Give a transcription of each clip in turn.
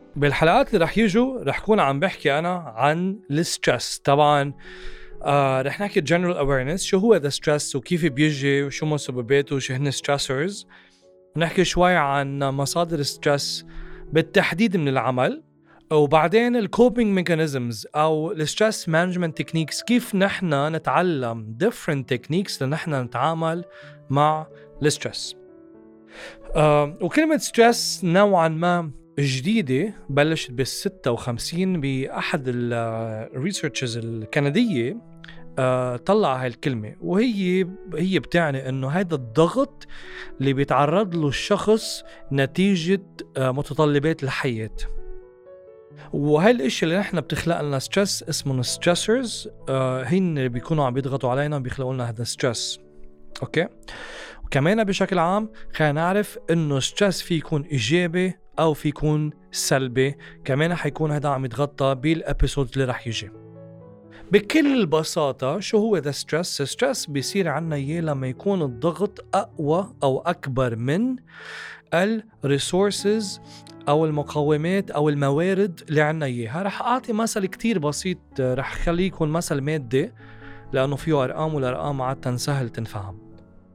بالحلقات اللي رح يجوا رح كون عم بحكي أنا عن الستريس. طبعا رح نحكي general awareness، شو هو the stress وكيف بيجي وشو مسبباته وشو هن stressors. نحكي شوي عن مصادر الستريس بالتحديد من العمل، وبعدين الكوبينج mechanisms أو الستريس مانجمنت تكنيكس، كيف نحن نتعلم different techniques لنحن نتعامل مع الستريس. وكلمة ستريس نوعا ما جديدة، بلشت بال56 بأحد الريسيرشز الكندية. طلع هاي الكلمة، وهي بتعني انه هذا الضغط اللي بيتعرض له الشخص نتيجة متطلبات الحياة. وهاي الاشياء اللي نحن بتخلق لنا ستريس اسمه ستريسرز، هن اللي بيكونوا عم بيضغطوا علينا بيخلقوا لنا هذا ستريس. اوكي، وكمان بشكل عام خلينا نعرف انه ستريس في يكون ايجابي او في يكون سلبي، كمان حيكون هذا عم يتغطى بالابيسود اللي رح يجي. بكل بساطة شو هو ذا ستريس؟ ستريس بيصير عنا اياه لما يكون الضغط اقوى او اكبر من الريسورسز او المقومات او الموارد اللي عنا اياها. رح اعطي مثل كتير بسيط، رح خليه يكون مثل مادي لانه فيه ارقام، والارقام عادة سهل تنفهم.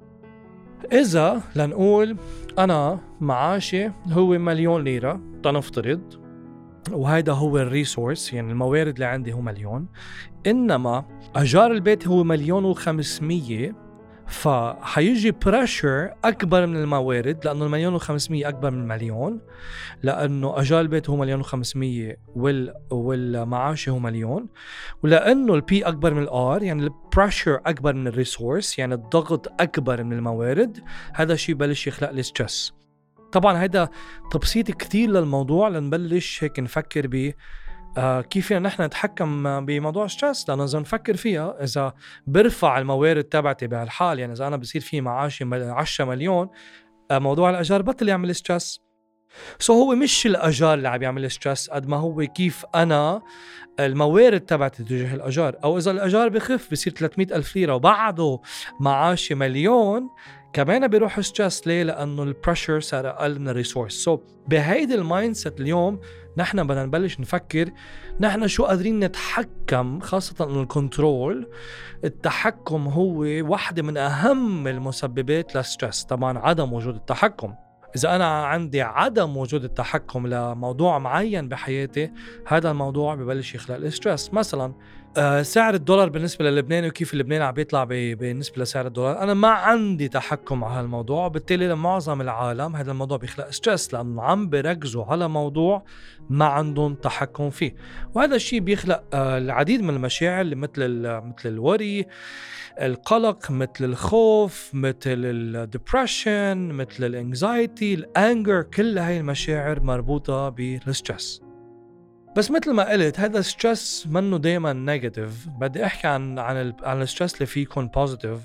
إذا لنقول أنا معاشي هو 1,000,000 ليرة تنفترض، وهذا هو الريسورس، يعني الموارد اللي عندي هو 1,000,000، إنما أجار البيت هو 1,500,000، فحيجي بريشر أكبر من الموارد، لأنه 1,500,000 أكبر من 1,000,000، لأنه أجار البيت هو 1,500,000 والمعاش هو 1,000,000، ولأنه البي أكبر من الآر، يعني البريشر أكبر من الريسورس، يعني الضغط أكبر من الموارد. هذا الشيء بلش يخلق لي ستريس. طبعا هذا تبسيط كتير للموضوع لنبلش هيك نفكر ب كيف نحن نتحكم بموضوع ستريس. لأنه إذا نفكر فيها، إذا برفع الموارد تبعتي بهالحال، يعني إذا أنا بصير في معاشي 10 مليون، موضوع الأجار بطل يعمل ستريس. هو مش الأجار اللي عم يعمل ستريس قد ما هو كيف أنا الموارد تبعتي تجاه الأجار. أو إذا الأجار بخف بصير 300,000 ليرة وبعده معاشي 1,000,000، كمان بيروح ستريس. ليه؟ لأنه البريشر صار أقل من الريسورس. بهيدي المايندسيت اليوم نحن بدنا نبلش نفكر نحن شو قادرين نتحكم، خاصة أنه الكنترول، التحكم هو واحدة من أهم المسببات للستريس. طبعا عدم وجود التحكم، إذا أنا عندي عدم وجود التحكم لموضوع معين بحياتي، هذا الموضوع ببلش يخلق الستريس. مثلا سعر الدولار بالنسبة للبنان وكيف اللبنان عم بيطلع بالنسبة لسعر الدولار، أنا ما عندي تحكم على هالموضوع، بالتالي لمعظم العالم هذا الموضوع بيخلق ستريس، لأنه عم بركزوا على موضوع ما عندهم تحكم فيه. وهذا الشيء بيخلق العديد من المشاعر اللي مثل الوري، القلق، مثل الخوف، مثل الديبريشن، مثل الانكزايتي، الانجر. كل هاي المشاعر مربوطة بالستريس. بس مثل ما قلت، هذا الستريس منه دايما نيجاتيف. بدي احكي عن الستريس اللي فيه يكون بوزيتيف،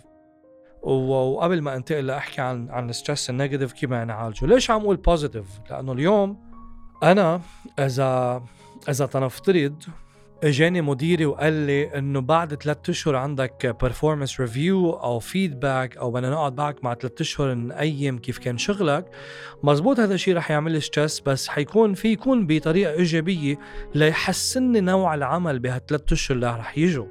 وقبل ما انتقل لاحكي عن الستريس النيجاتيف كيف بدنا نعالجه. ليش عم اقول بوزيتيف؟ لانه اليوم انا اذا تنفترض اجاني مديري وقال لي انه بعد 3 أشهر عندك performance review او feedback، او بدنا نقعد معك مع 3 أشهر نقيم كيف كان شغلك، مزبوط هذا الشيء رح يعمل لي ستريس، بس يكون بطريقة ايجابية ليحسن نوع العمل بها3 أشهر اللي رح يجوا.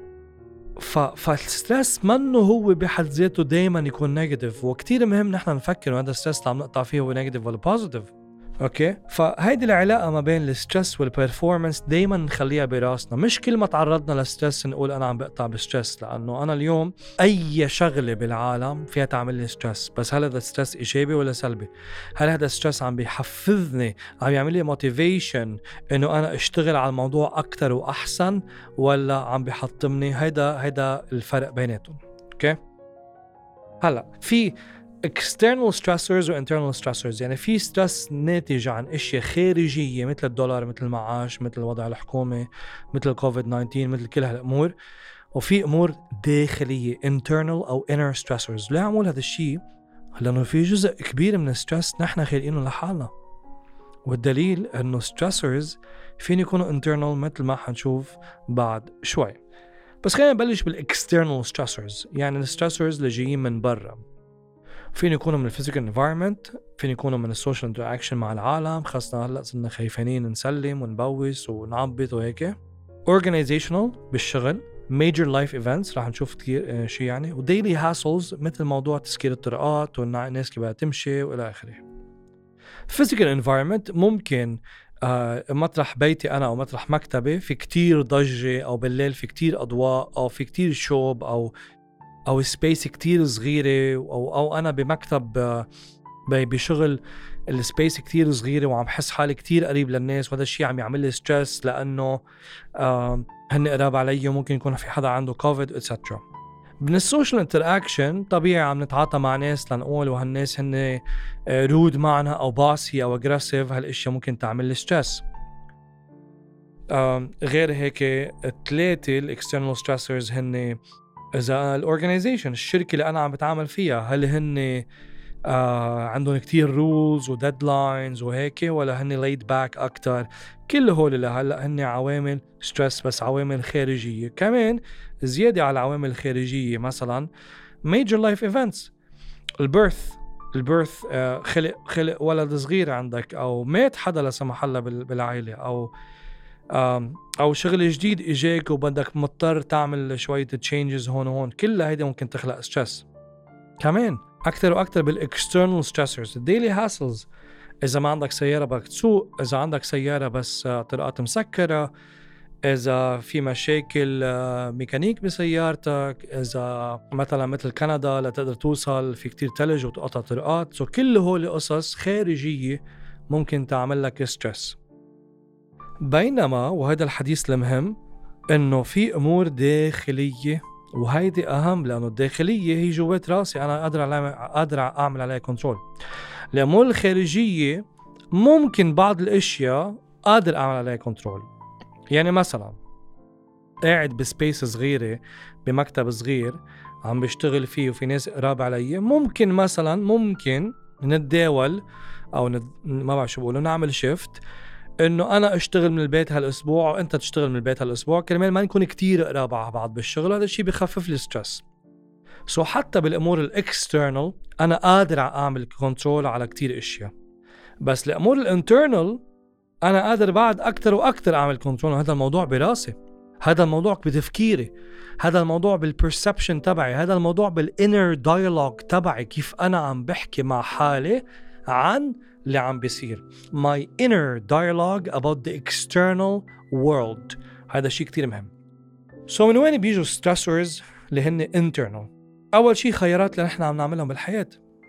فالستريس منه هو بحد ذاته دايما يكون نيجاتيف، وكتير مهم نحن نفكر هذا الستريس اللي عم نقطع فيه هو نيجاتيف ولا بوزيتيف. اوكي، فهيدي العلاقه ما بين الستريس والبرفورمانس دائما نخليها براسنا. مش كل ما تعرضنا للستريس نقول انا عم بقطع بالستريس، لانه انا اليوم اي شغله بالعالم فيها تعمل لي ستريس، بس هل هذا الستريس ايجابي ولا سلبي؟ هل هذا الستريس عم بيحفزني، عم يعمل لي موتيفيشن انه انا اشتغل على الموضوع اكثر واحسن، ولا عم بيحطمني؟ هيدا الفرق بيناتهم. اوكي، هلا في external stressors و internal stressors، يعني في stress ناتج عن اشياء خارجية مثل الدولار، مثل المعاش، مثل الوضع الحكومي، مثل COVID-19، مثل كل هالامور، وفي امور داخلية internal او inner stressors. ليه عمول هذا الشيء؟ لانه في جزء كبير من الستريس نحن خالقينه لحالنا، والدليل انه stressors فين يكونوا internal مثل ما حنشوف بعد شوي. بس خلينا نبلش بالاكسترنال stressors، يعني الستريسورز اللي جايين من برا. فين يكونوا من الفيزيكال انفايرمنت، فين يكونوا من السوشيال انتراكشن مع العالم، خاصة هلا صرنا خايفين نسلم ونبوس ونعبط وهيك. organizational بالشغل، major life events راح نشوف كثير شيء يعني، و daily hassles مثل موضوع تسكير الطرقات والناس كيف بدها تمشي والى اخره. physical environment ممكن مطرح بيتي أنا أو مطرح مكتبي في كتير ضجة، أو بالليل في كتير أضواء، أو في كتير شوب، أو سبيس كتير صغيرة، أو أنا بمكتب بشغل السبيس كتير صغيرة وعم حس حالي كتير قريب للناس، وهذا الشيء عم يعمل لي ستريس لأنه هن قراب علي وممكن يكون في حدا عنده كوفيد اتسترا. من السوشيال انتراكشن طبيعي عم نتعاطى مع ناس لنقول وهالناس هن رود معنا او باسي او اجريسيف، هالاشياء ممكن تعمل لي ستريس. غير هيك 3 الاكسترنال ستريسرز هن اذا الاورجنايزيشن الشركه اللي انا عم بتعامل فيها هل هن عندهم كتير رولز وديدلاينز وهيك، ولا هن laid back اكتر. كل هول اللي هلا هن عوامل ستريس، بس عوامل خارجيه. كمان زياده على العوامل الخارجيه مثلا major life events، البيرث خلق ولد صغير عندك، او مات حدا لا سمح الله بالعائله، او شغل جديد اجاك وبدك مضطر تعمل شويه تشينجز هون وهون، كل هيدا ممكن تخلق ستريس. كمان اكثر واكثر بالاكسترنال ستريسرز، الديلي هاسلز، اذا ما عندك سياره بدك تسوق، اذا عندك سياره بس طرقات مسكره، إذا في مشاكل ميكانيك بسيارتك، إذا مثلا مثل كندا لا تقدر توصل في كتير تلج وتقطع طرقات، كل هول قصص خارجية ممكن تعمل لك ستريس. بينما وهذا الحديث المهم إنه في أمور داخلية، وهيدي أهم، لأنه الداخلية هي جوات راسي أنا قادر أعمل عليها كنترول. الأمور الخارجية ممكن بعض الأشياء قادر أعمل عليها كنترول. يعني مثلا قاعد بسبيس صغيرة بمكتب صغير عم بشتغل فيه وفي ناس قراب علي، ممكن نتداول أو ما بعرف شو بقولوا، نعمل شيفت إنه أنا أشتغل من البيت هالأسبوع وأنت تشتغل من البيت هالأسبوع، كرمال ما نكون كتير قراب على بعض بالشغل. هذا الشيء بيخفف لي ستريس. حتى بالأمور الإكسترنال أنا قادر أعمل كنترول على كتير إشياء، بس الأمور الانترنال أنا قادر بعد أكتر وأكتر أعمل كنترول. هذا الموضوع براسي، هذا الموضوع بتفكيري، هذا الموضوع بالبرسبشن تبعي، هذا الموضوع بالinner dialogue تبعي، كيف أنا عم بحكي مع حالي عن اللي عم بيصير. My inner dialogue about the external world. هذا شيء كتير مهم. من وين بيجوا stressors اللي هن internal؟ أول شيء خيارات اللي نحن عم نعملهم بالحياة.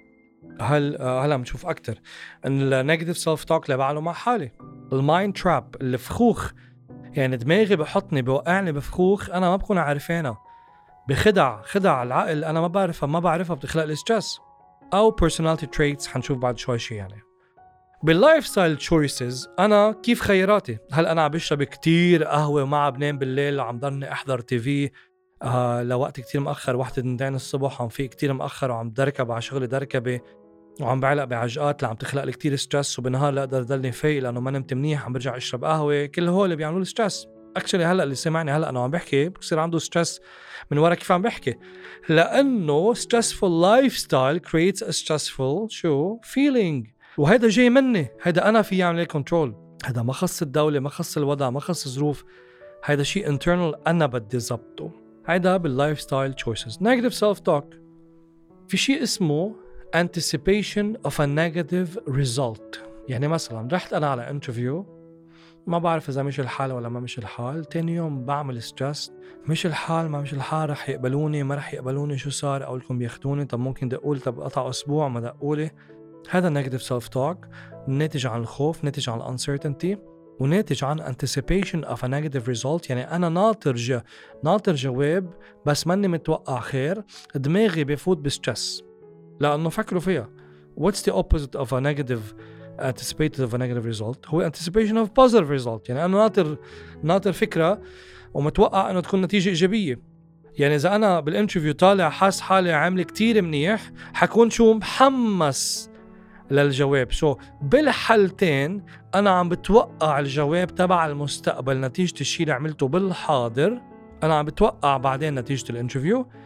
هلا بنشوف أكتر النيجاتيف سيلف توك اللي بعمله مع حالي، المايند تراب، الفخوخ، يعني دماغي بحطني بوقعني بفخوخ أنا ما بكون عارفينها، خدع العقل أنا ما بعرفها بتخلق لي ستريس. أو personality traits حنشوف بعد شوي شيء. يعني باللايف ستايل تشويسز أنا كيف خياراتي؟ هل أنا عم بشرب كتير قهوة وما عم بنام بالليل وعم ضلني أحضر تي في لوقت كتير مأخر 1-2 الصبح، وعم في كتير مأخر وعم دركب على شغلي دركبة وعم بعلق بعجقات اللي عم تخلق لي كتير ستريس، وبنهار لا أقدر ضلني فايق لأنه ما نمت منيح عم برجع أشرب قهوة. كل هول اللي بيعملوا لي ستريس. اكشلي هلا اللي سمعني هلا انا عم بحكي بصير عنده ستريس من ورا كيف عم بحكي، لانه stressful lifestyle creates a stressful feeling. وهذا جاي مني، هذا انا في اعمل كنترول، هذا ما خص الدوله، ما خص الوضع، ما خص الظروف، هذا شيء internal انا بدي ضبطه. هذا باللايف ستايل choices. negative self talk، في شيء اسمه anticipation of a negative result. يعني مثلا رحت انا على انترفيو، ما بعرف إذا مش الحال ولا ما مش الحال، تاني يوم بعمل ستريس، مش الحال ما مش الحال، رح يقبلوني ما رح يقبلوني، شو صار، أقولكم بياخدوني، طب ممكن دقول، طب قطع أسبوع ما دقولي. هذا negative self talk ناتج عن الخوف، ناتج عن uncertainty، وناتج عن anticipation of a negative result. يعني أنا ناطر جواب بس ماني متوقع خير، دماغي بيفوت بستريس لأنه فكروا فيها. what's the opposite of a negative anticipated of a negative result؟ هو anticipation of positive result. يعني أنا ناطر فكرة ومتوقع أنه تكون نتيجة إيجابية. يعني إذا أنا بالانترفيو طالع حاس حالي عامل كتير منيح، حكون شو محمس للجواب. بالحالتين أنا عم بتوقع الجواب تبع المستقبل نتيجة الشيء اللي عملته بالحاضر، أنا عم بتوقع بعدين نتيجة الانترفيو.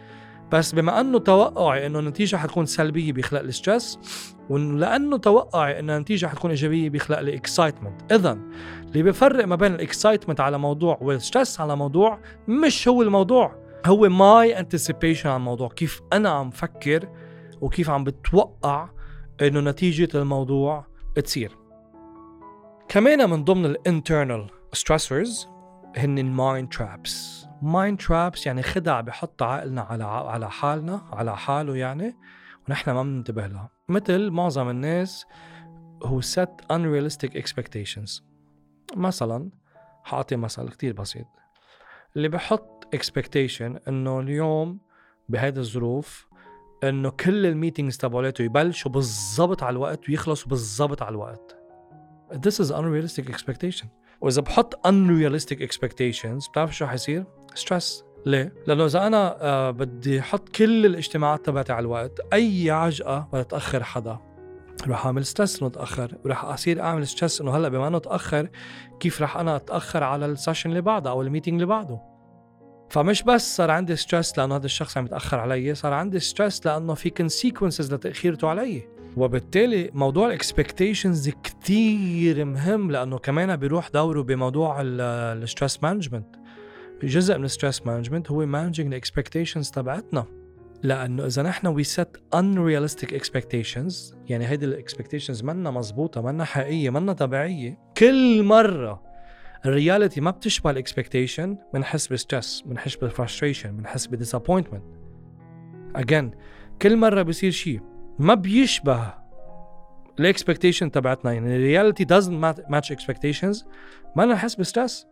بس بما أنه توقعي أنه النتيجة حتكون سلبية بيخلق الستريس، ولأنه توقعي أن النتيجة حتكون إيجابية بيخلق الإكسايتمنت. إذن اللي بيفرق ما بين الإكسايتمنت على موضوع والستريس على موضوع مش هو الموضوع، هو my anticipation على الموضوع، كيف أنا عم فكر وكيف عم بتوقع أنه نتيجة الموضوع تصير. كمان من ضمن الانترنال stressors هن المايند ترابس. مايند ترابس يعني خدع بحط عقلنا على حالنا، على حاله يعني، ونحن ما بننتبه لها. مثل معظم الناس who set unrealistic expectations. مثلا حاعطي مثل كتير بسيط، اللي بحط expectation انه اليوم بهذه الظروف انه كل الميتينجز تبعولاته يبلشوا بالضبط على الوقت ويخلصوا بالضبط على الوقت. This is unrealistic expectation. وإذا بحط unrealistic expectations بتعرف شو حيصير؟ stress. ليه؟ لأنه إذا أنا بدي أحط كل الاجتماعات تبعتي على الوقت، أي عجقة بتأخر حدا رح أعمل ستريس إنه تأخر، ورح أصير أعمل ستريس إنه هلأ بما إنه تأخر كيف رح أنا أتأخر على السيشن اللي بعده أو الميتينج اللي بعده. فمش بس صار عندي ستريس لأنه هذا الشخص عم يتأخر علي، صار عندي ستريس لأنه في consequences لتأخيرته علي. وبالتالي موضوع الاكسبكتيشنز كتير مهم، لأنه كمان بيروح دوره بموضوع الستريس مانجمنت. جزء من الستريس مانجمنت هو مانجينج الاكسبكتيشنز تبعتنا، لأنه إذا نحن we set unrealistic expectations يعني هيدي الاكسبكتيشنز منا مزبوطة، منا حقيقية، منا طبيعية، كل مرة الرياليتي ما بتشبه الاكسبكتيشن بنحس بستريس، بنحس بالفرستريشن، بنحس بديسابوينتمنت. again كل مرة بيصير شيء ما بيشبه الاكسبكتيشن تبعتنا، يعني الرياليتي doesn't match expectations، ما نحس بستريس.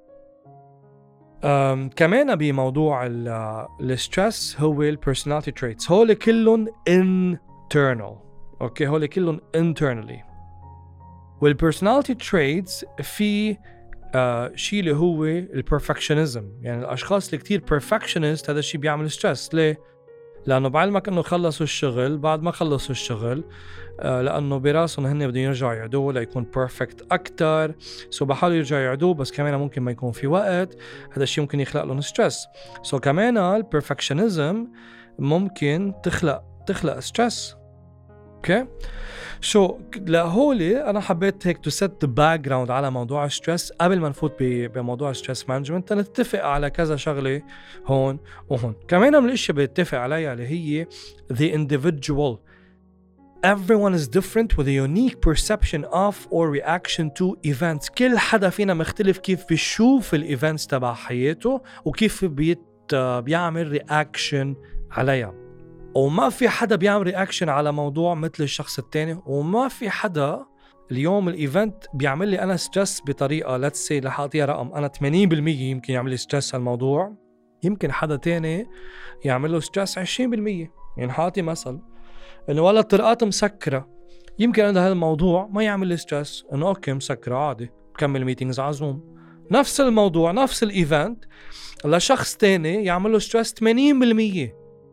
كمان بموضوع الستريس هو البيرسوناليتي تريتس، هول كلهم internal. اوكي هول كلهم internally. والبيرسوناليتي تريتس في شيء اللي هو البرفكشنزم، يعني الاشخاص اللي كتير perfectionist هذا الشيء بيعمل ستريس. ليه؟ لأنه بعلمك إنه خلصوا الشغل، بعد ما خلصوا الشغل لأنه براسهم هن بدهم يرجعوا يعدوه ليكون بيرفكت أكتر، سو بحاولوا يرجعوا يعدوه بس كمان ممكن ما يكون في وقت، هذا الشيء ممكن يخلق لهم ستريس. سو كمان البرفكشنزم ممكن تخلق ستريس. اوكي شو لهولي انا حبيت هيك تو سيت ذا باك جراوند على موضوع الستريس قبل ما نفوت بموضوع الستريس مانجمنت، نتفق على كذا شغله هون وهون. كمان من الاشياء بنتفق عليها اللي هي the individual. Everyone is different with a unique perception of or reaction to events. كل حدا فينا مختلف كيف بيشوف الايفنتس تبع حياته وكيف بيعمل رياكشن عليها، وما في حدا بيعمل رياكشن على موضوع مثل الشخص التاني، وما في حدا اليوم الايفنت بيعمل لي انا ستريس بطريقه let's say رح اعطيها رقم انا 80% يمكن يعمل لي ستريس هالموضوع، يمكن حدا تاني يعمل له ستريس 20%. يعني حاطي مثل انه والله الطرقات مسكره، يمكن هذا الموضوع ما يعمل لي ستريس، انه اوكي مسكره عادي بكمل ميتينجز على زوم. نفس الموضوع نفس الايفنت لشخص تاني يعمل له ستريس 80%.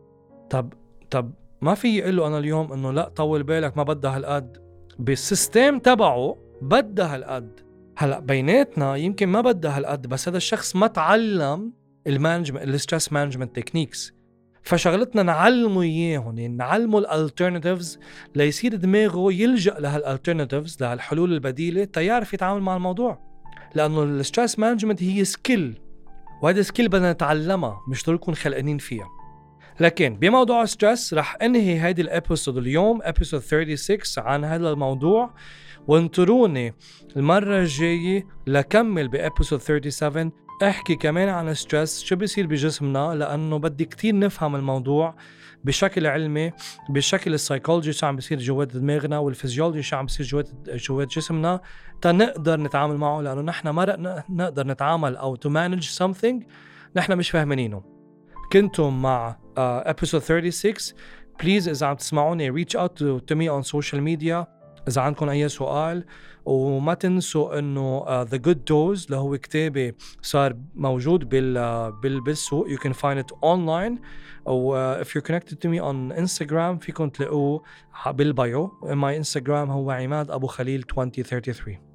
طب ما في يقول له انا اليوم انه لا طول بالك ما بدها هالقد، بالسيستم تبعه بدها هالقد. هلا بيناتنا يمكن ما بدها هالقد، بس هذا الشخص ما تعلم المانجمنت الستريس مانجمنت تكنيكس، فشغلتنا نعلمه اياهم، يعني نعلمه الالترناتيفز ليصير دماغه يلجأ لهالالترناتيفز لهالحلول البديله تيعرف يتعامل مع الموضوع. لانه الستريس مانجمنت هي سكيل، وهذا سكيل بدنا نتعلمها مش ضروري نكون خلقانين فيها. لكن بموضوع ستريس رح انهي هيدي الابيسود اليوم ابيسود 36 عن هذا الموضوع، وانطروني المرة الجاية لكمل بابيسود 37 احكي كمان عن ستريس شو بيصير بجسمنا، لانه بدي كتير نفهم الموضوع بشكل علمي، بشكل السايكولوجي شو عم بيصير جوات دماغنا والفيزيولوجي شو عم بيصير جوات جسمنا تنقدر نتعامل معه، لانه نحن ما نقدر نتعامل او to manage something نحن مش فاهمينه. كنتم مع episode 36. please إذا عم تسمعوني reach out to me on social media إذا عندكم أي سؤال، وما تنسوا إنه the good dose اللي هو كتابي صار موجود بالسوق. you can find it online، أو if you're connected to me on Instagram فيكم تلاقوه بالبايو. my Instagram هو عماد أبو خليل 2033.